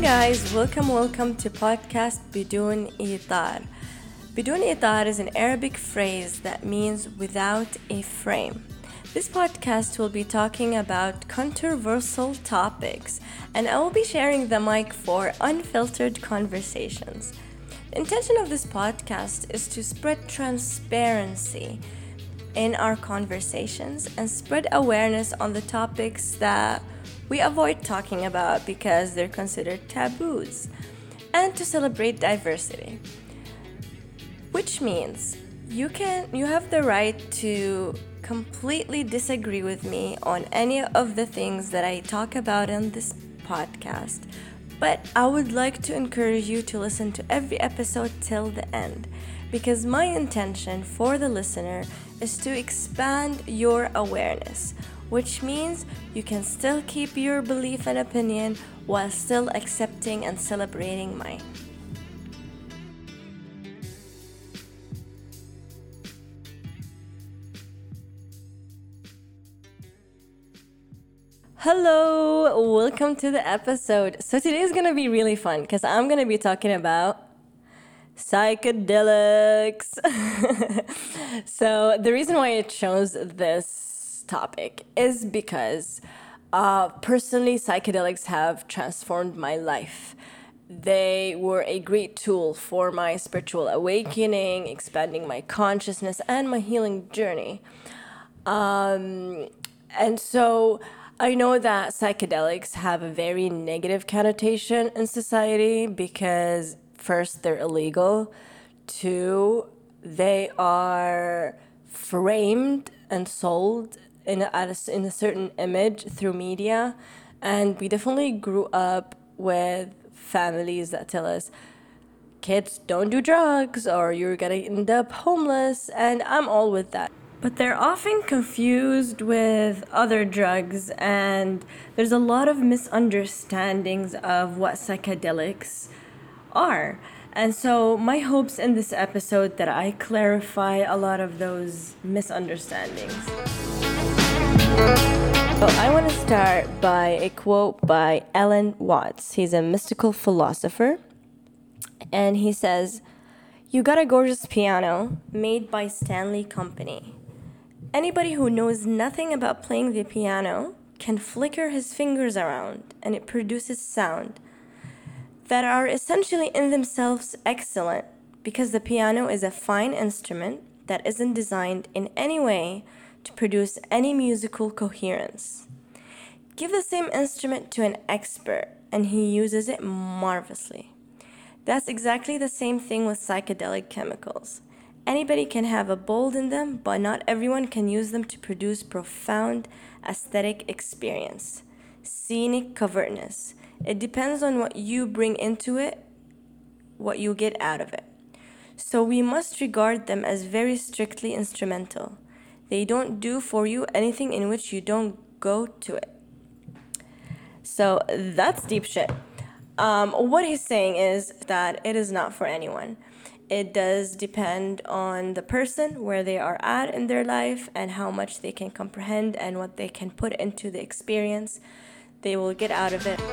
guys, welcome to podcast بدون إطار. بدون إطار is an Arabic phrase that means without a frame. This podcast will be talking about controversial topics, and I will be sharing the mic for unfiltered conversations. The intention of this podcast is to spread transparency in our conversations and spread awareness on the topics that we avoid talking about because they're considered taboos, and to celebrate diversity. Which means you have the right to completely disagree with me on any of the things that I talk about in this podcast, but I would like to encourage you to listen to every episode till the end, because my intention for the listener is to expand your awareness, which means you can still keep your belief and opinion while still accepting and celebrating mine. Hello, welcome to the episode. So today is going to be really fun because I'm going to be talking about psychedelics. So the reason why I chose this topic is because personally psychedelics have transformed my life. They were a great tool for my spiritual awakening, expanding my consciousness, and my healing journey. And so I know that psychedelics have a very negative connotation in society because first, they're illegal. Two, they are framed and sold in a certain image through media. And we definitely grew up with families that tell us, kids, don't do drugs or you're gonna end up homeless. And I'm all with that. But they're often confused with other drugs, and there's a lot of misunderstandings of what psychedelics are. And so my hopes in this episode that I clarify a lot of those misunderstandings. So I want to start by a quote by Alan Watts. He's a mystical philosopher, and he says, "You got a gorgeous piano made by Stanley Company. Anybody who knows nothing about playing the piano can flicker his fingers around and it produces sound that are essentially in themselves excellent, because the piano is a fine instrument that isn't designed in any way to produce any musical coherence. Give the same instrument to an expert and he uses it marvelously. That's exactly the same thing with psychedelic chemicals. Anybody can have a bowl in them, but not everyone can use them to produce profound aesthetic experience, scenic covertness. It depends on what you bring into it, what you get out of it. So we must regard them as very strictly instrumental. They don't do for you anything in which you don't go to it." So that's deep shit. What he's saying is that it is not for anyone. It does depend on the person, where they are at in their life, and how much they can comprehend and what they can put into the experience they will get out of it.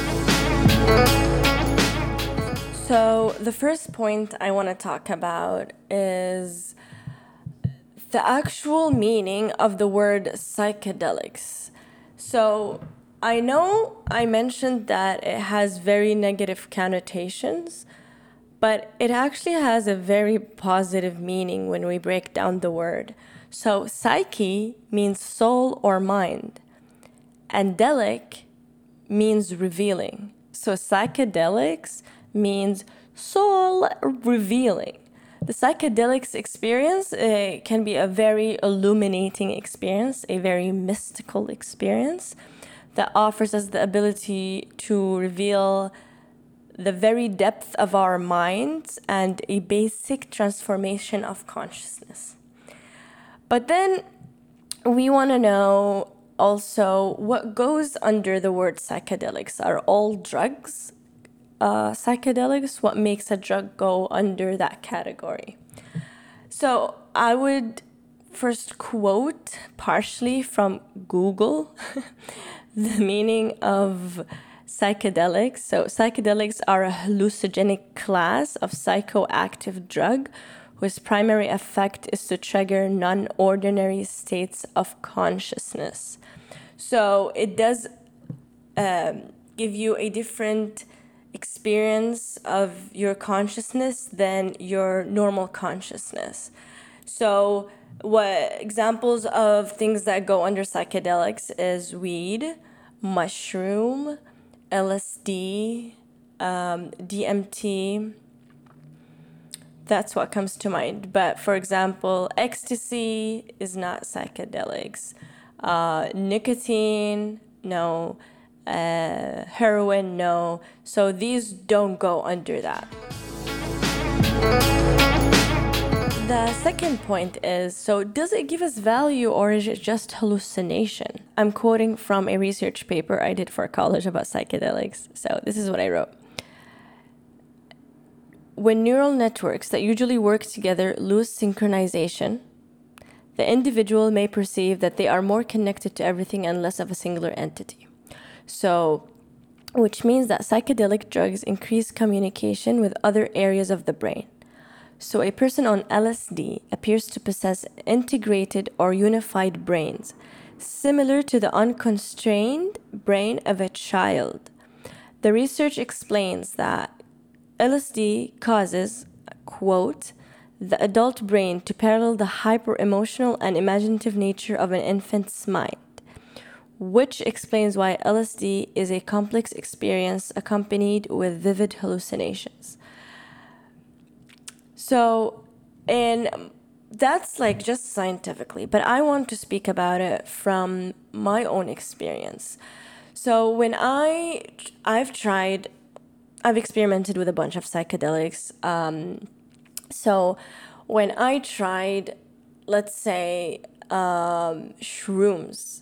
So the first point I want to talk about is the actual meaning of the word psychedelics. So I know I mentioned that it has very negative connotations, but it actually has a very positive meaning when we break down the word. So psyche means soul or mind, and delic means revealing. So psychedelics means soul revealing. The psychedelics experience can be a very illuminating experience, a very mystical experience that offers us the ability to reveal the very depth of our minds and a basic transformation of consciousness. But then we want to know also what goes under the word psychedelics. Are all drugs psychedelics? What makes a drug go under that category? So I would first quote partially from Google the meaning of psychedelics. So psychedelics are a hallucinogenic class of psychoactive drug whose primary effect is to trigger non-ordinary states of consciousness. So it does give you a different experience of your consciousness than your normal consciousness. So what examples of things that go under psychedelics is weed, mushroom, LSD, DMT. That's what comes to mind. But for example, ecstasy is not psychedelics. Nicotine, no. Heroin, no. So these don't go under that. The second point is, so does it give us value or is it just hallucination? I'm quoting from a research paper I did for college about psychedelics. So this is what I wrote. When neural networks that usually work together lose synchronization, the individual may perceive that they are more connected to everything and less of a singular entity. So, which means that psychedelic drugs increase communication with other areas of the brain. So a person on LSD appears to possess integrated or unified brains, similar to the unconstrained brain of a child. The research explains that LSD causes, quote, the adult brain to parallel the hyper-emotional and imaginative nature of an infant's mind, which explains why LSD is a complex experience accompanied with vivid hallucinations. So, and that's like just scientifically, but I want to speak about it from my own experience. So when I've experimented with a bunch of psychedelics. So when I tried, let's say, shrooms,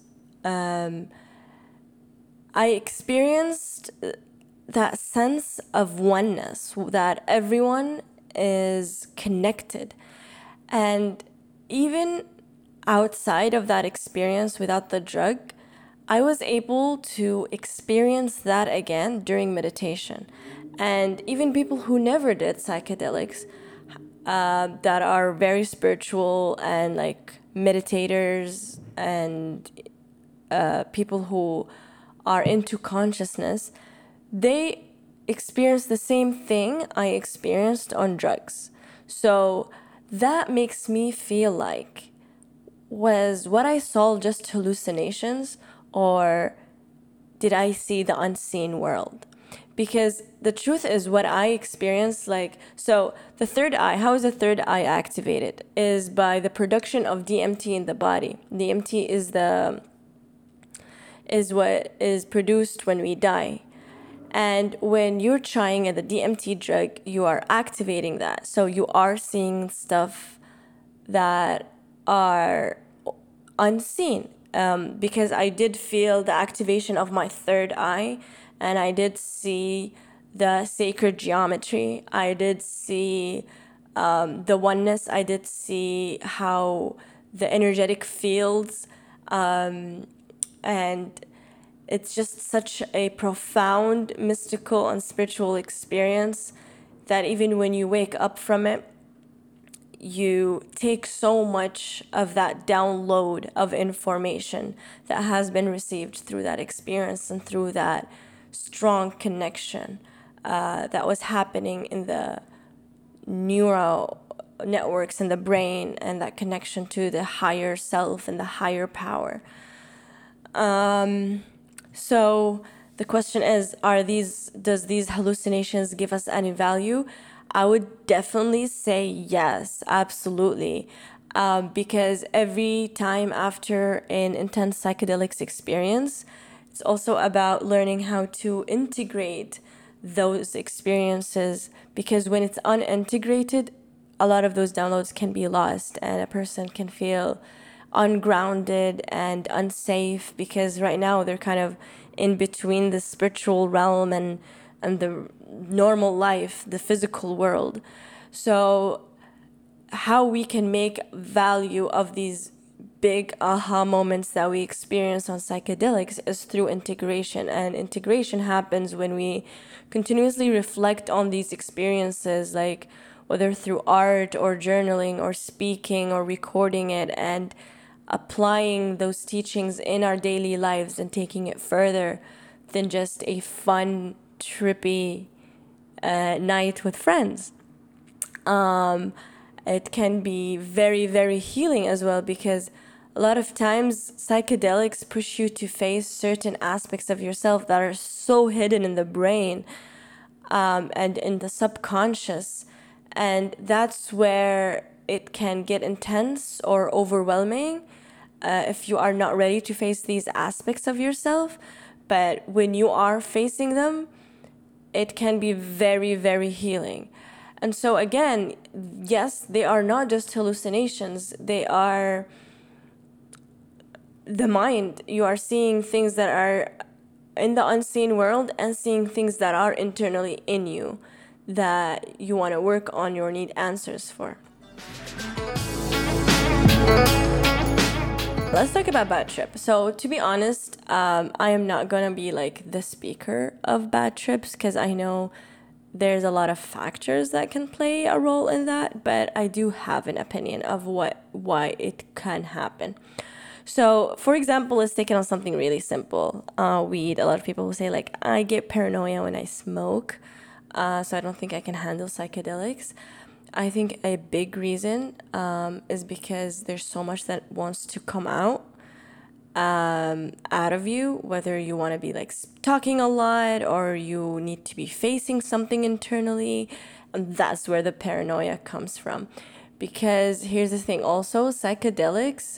I experienced that sense of oneness, that everyone is connected. And even outside of that experience without the drug, I was able to experience that again during meditation. And even people who never did psychedelics, that are very spiritual and like meditators and people who are into consciousness, they experience the same thing I experienced on drugs. So that makes me feel like, was what I saw just hallucinations, or did I see the unseen world? Because the truth is what I experienced, like, so the third eye, how is the third eye activated? Is by the production of DMT in the body. DMT is what is produced when we die. And when you're trying the DMT drug, you are activating that. So you are seeing stuff that are unseen. Because I did feel the activation of my third eye, and I did see the sacred geometry. I did see the oneness. I did see how the energetic fields, and it's just such a profound, mystical, and spiritual experience that even when you wake up from it, you take so much of that download of information that has been received through that experience and through that strong connection that was happening in the neural networks in the brain, and that connection to the higher self and the higher power. So the question is, does these hallucinations give us any value? I would definitely say yes, absolutely. Because every time after an intense psychedelics experience, it's also about learning how to integrate those experiences, because when it's unintegrated, a lot of those downloads can be lost and a person can feel ungrounded and unsafe, because right now they're kind of in between the spiritual realm and the normal life, the physical world. So how we can make value of these big aha moments that we experience on psychedelics is through integration. And integration happens when we continuously reflect on these experiences, like whether through art or journaling or speaking or recording it, and applying those teachings in our daily lives and taking it further than just a fun, trippy night with friends. It can be very, very healing as well, because a lot of times psychedelics push you to face certain aspects of yourself that are so hidden in the brain, and in the subconscious. And that's where it can get intense or overwhelming if you are not ready to face these aspects of yourself. But when you are facing them, it can be very, very healing. And so again, yes, they are not just hallucinations, they are the mind. You are seeing things that are in the unseen world and seeing things that are internally in you that you want to work on or need answers for. Let's talk about bad trip. So to be honest, I am not gonna be like the speaker of bad trips, because I know there's a lot of factors that can play a role in that, but I do have an opinion of why it can happen. So, for example, let's take it on something really simple. Weed. A lot of people will say, like, I get paranoia when I smoke, so I don't think I can handle psychedelics. I think a big reason is because there's so much that wants to come out of you, whether you want to be like talking a lot or you need to be facing something internally. And that's where the paranoia comes from. Because here's the thing also, psychedelics,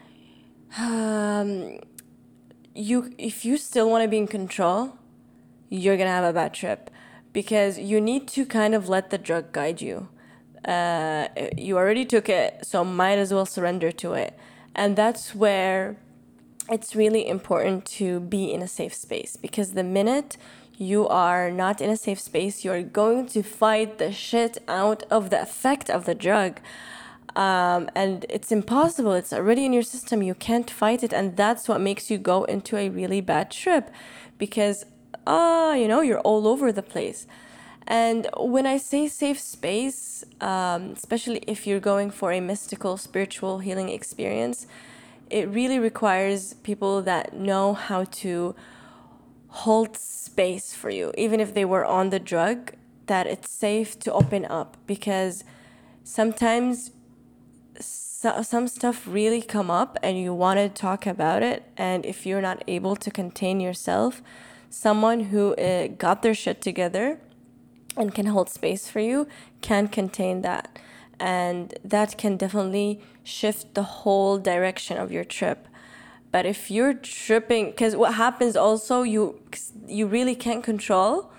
if you still want to be in control, you're gonna have a bad trip, because you need to kind of let the drug guide you. You already took it, so might as well surrender to it. And that's where it's really important to be in a safe space, because the minute you are not in a safe space, you're going to fight the shit out of the effect of the drug. And it's impossible. It's already in your system. You can't fight it. And that's what makes you go into a really bad trip, because, you're all over the place. And when I say safe space, especially if you're going for a mystical, spiritual healing experience, it really requires people that know how to hold space for you, even if they were on the drug, that it's safe to open up, because sometimes some stuff really come up and you want to talk about it, and if you're not able to contain yourself, someone who got their shit together and can hold space for you can contain that, and that can definitely shift the whole direction of your trip. But if you're tripping, because what happens also, you really can't control,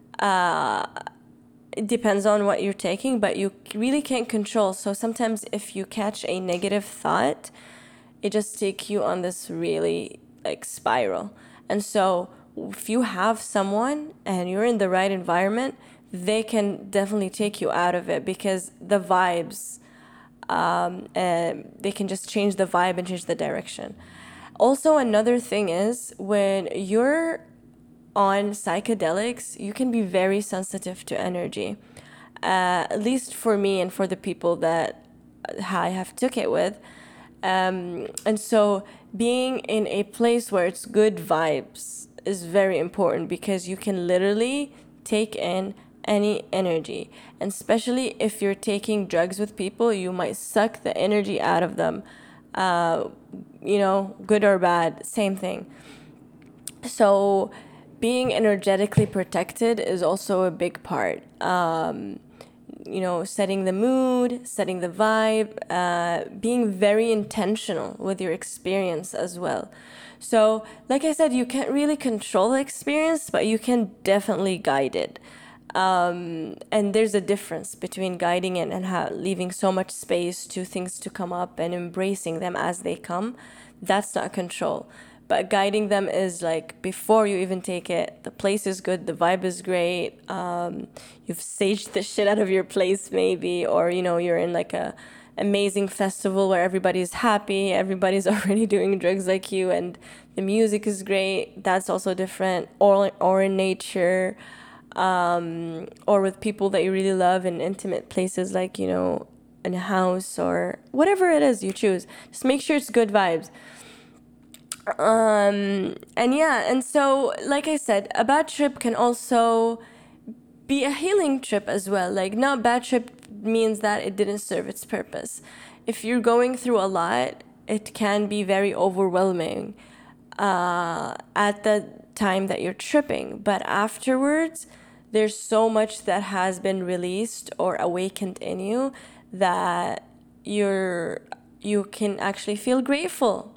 it depends on what you're taking, but you really can't control. So sometimes if you catch a negative thought, it just takes you on this really like spiral. And so if you have someone and you're in the right environment, they can definitely take you out of it, because the vibes, they can just change the vibe and change the direction. Also, another thing is, when you're on psychedelics, you can be very sensitive to energy. At least for me and for the people that I have took it with. And so being in a place where it's good vibes is very important, because you can literally take in any energy. And especially if you're taking drugs with people, you might suck the energy out of them. Good or bad, same thing. So being energetically protected is also a big part. Setting the mood, setting the vibe, being very intentional with your experience as well. So, like I said, you can't really control the experience, but you can definitely guide it. And there's a difference between guiding it and leaving so much space to things to come up and embracing them as they come. That's not control. But guiding them is like, before you even take it, the place is good, the vibe is great. You've saged the shit out of your place maybe, or you're in like a amazing festival where everybody's happy, everybody's already doing drugs like you, and the music is great. That's also different. Or in nature, or with people that you really love in intimate places, like, you know, in a house or whatever it is you choose. Just make sure it's good vibes. And yeah, and so like I said, a bad trip can also be a healing trip as well. Like, not bad trip means that it didn't serve its purpose. If you're going through a lot, it can be very overwhelming at the time that you're tripping, but afterwards there's so much that has been released or awakened in you that you can actually feel grateful.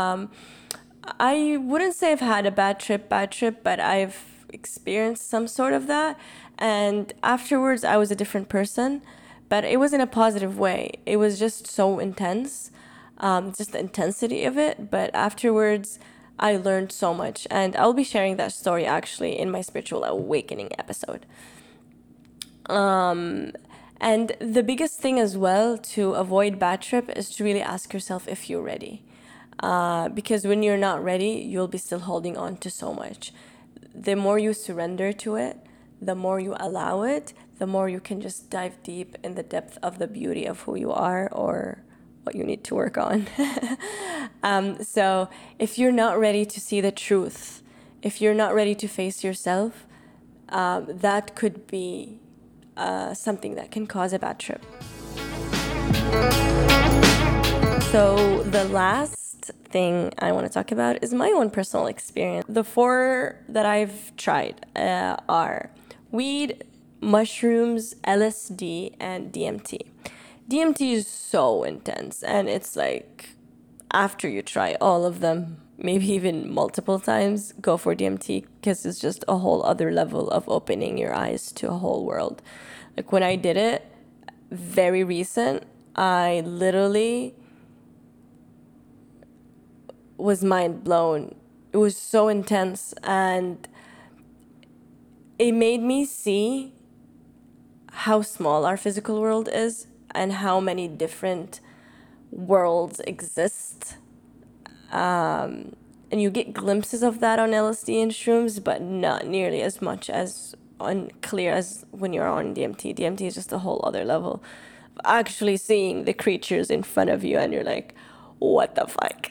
I wouldn't say I've had a bad trip, but I've experienced some sort of that. And afterwards, I was a different person, but it was in a positive way. It was just so intense, just the intensity of it. But afterwards, I learned so much. And I'll be sharing that story actually in my spiritual awakening episode. And the biggest thing as well to avoid bad trip is to really ask yourself if you're ready. Because when you're not ready, you'll be still holding on to so much. The more you surrender to it, the more you allow it, the more you can just dive deep in the depth of the beauty of who you are or what you need to work on. So if you're not ready to see the truth, if you're not ready to face yourself, that could be something that can cause a bad trip. So the last thing I want to talk about is my own personal experience. The 4 that I've tried are weed, mushrooms, LSD, and DMT. DMT is so intense, and it's like, after you try all of them, maybe even multiple times, go for DMT, because it's just a whole other level of opening your eyes to a whole world. Like, when I did it, very recent, I literally was mind blown. It was so intense, and it made me see how small our physical world is and how many different worlds exist. And you get glimpses of that on LSD and shrooms, but not nearly as much as clear as when you're on DMT. DMT is just a whole other level of actually seeing the creatures in front of you, and you're like, what the fuck?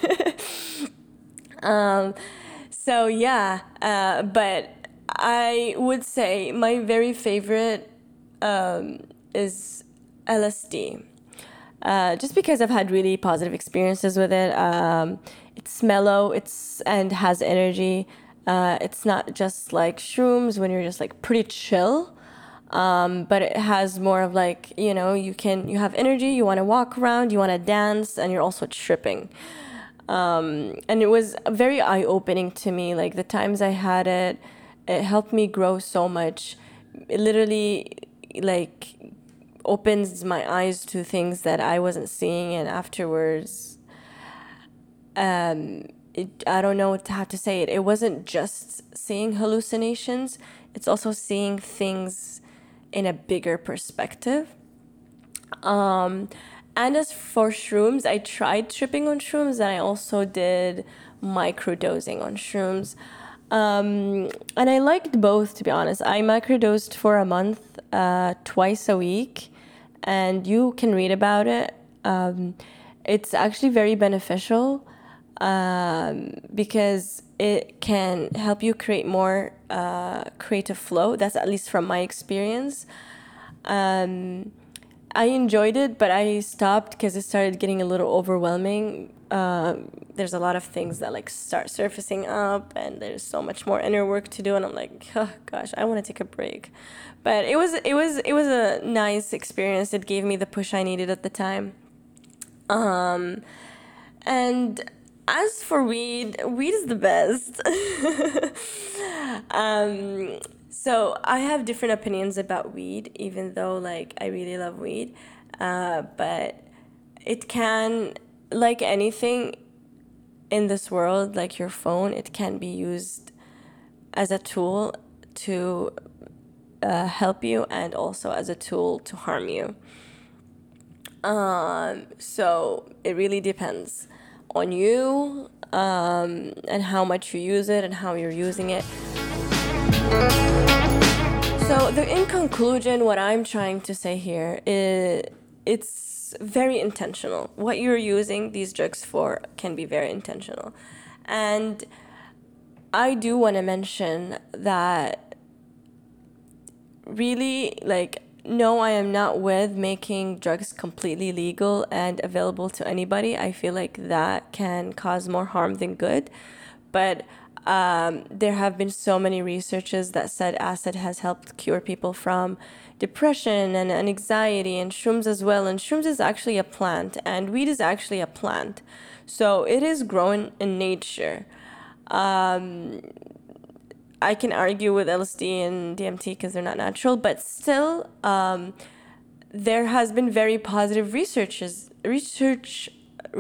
So yeah, but I would say my very favorite is LSD. Just because I've had really positive experiences with it. It's mellow, and has energy. It's not just like shrooms when you're just like pretty chill. But it has more of like, you know, you have energy, you want to walk around, you want to dance, and you're also tripping. And it was very eye-opening to me. Like, the times I had it, it helped me grow so much. It literally, like, opens my eyes to things that I wasn't seeing, and afterwards, I don't know how to say it. It wasn't just seeing hallucinations, it's also seeing things in a bigger perspective. And as for shrooms, I tried tripping on shrooms, and I also did microdosing on shrooms. And I liked both, to be honest. I microdosed for a month, twice a week, and you can read about it. It's actually very beneficial because it can help you create more creative flow. That's at least from my experience. I enjoyed it, but I stopped because it started getting a little overwhelming. There's a lot of things that like start surfacing up, and there's so much more inner work to do, and I'm like, oh gosh, I want to take a break. But it was a nice experience. It gave me the push I needed at the time. And as for weed is the best. So I have different opinions about weed, even though like I really love weed. But it can, like anything in this world, like your phone, it can be used as a tool to help you, and also as a tool to harm you. So it really depends on you, and how much you use it and how you're using it. So in conclusion, what I'm trying to say here is it's very intentional. What you're using these drugs for can be very intentional. And I do want to mention that really, like, no, I am not with making drugs completely legal and available to anybody. I feel like that can cause more harm than good. But there have been so many researches that said acid has helped cure people from depression and anxiety, and shrooms as well. And shrooms is actually a plant, and weed is actually a plant. So it is grown in nature. I can argue with LSD and DMT because they're not natural, but still, there has been very positive research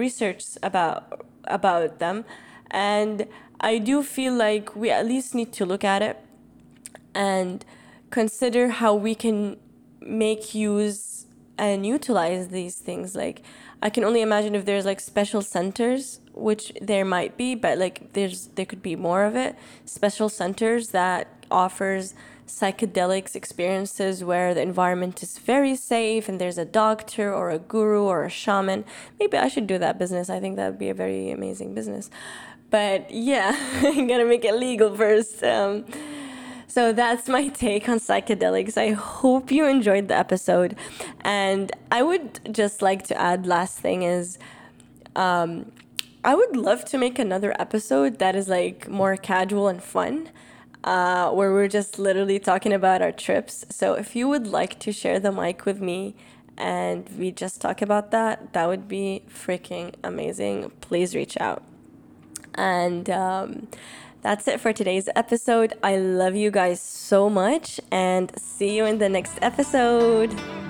about them, and I do feel like we at least need to look at it and consider how we can make use and utilize these things. Like, I can only imagine if there's like special centers, which there might be, but like there could be more of it. Special centers that offers psychedelics experiences where the environment is very safe and there's a doctor or a guru or a shaman. Maybe I should do that business. I think that would be a very amazing business. But yeah, I'm gonna make it legal first. So that's my take on psychedelics. I hope you enjoyed the episode. And I would just like to add, last thing is, I would love to make another episode that is like more casual and fun, where we're just literally talking about our trips. So if you would like to share the mic with me and we just talk about that, that would be freaking amazing. Please reach out. And that's it for today's episode. I love you guys so much, and see you in the next episode.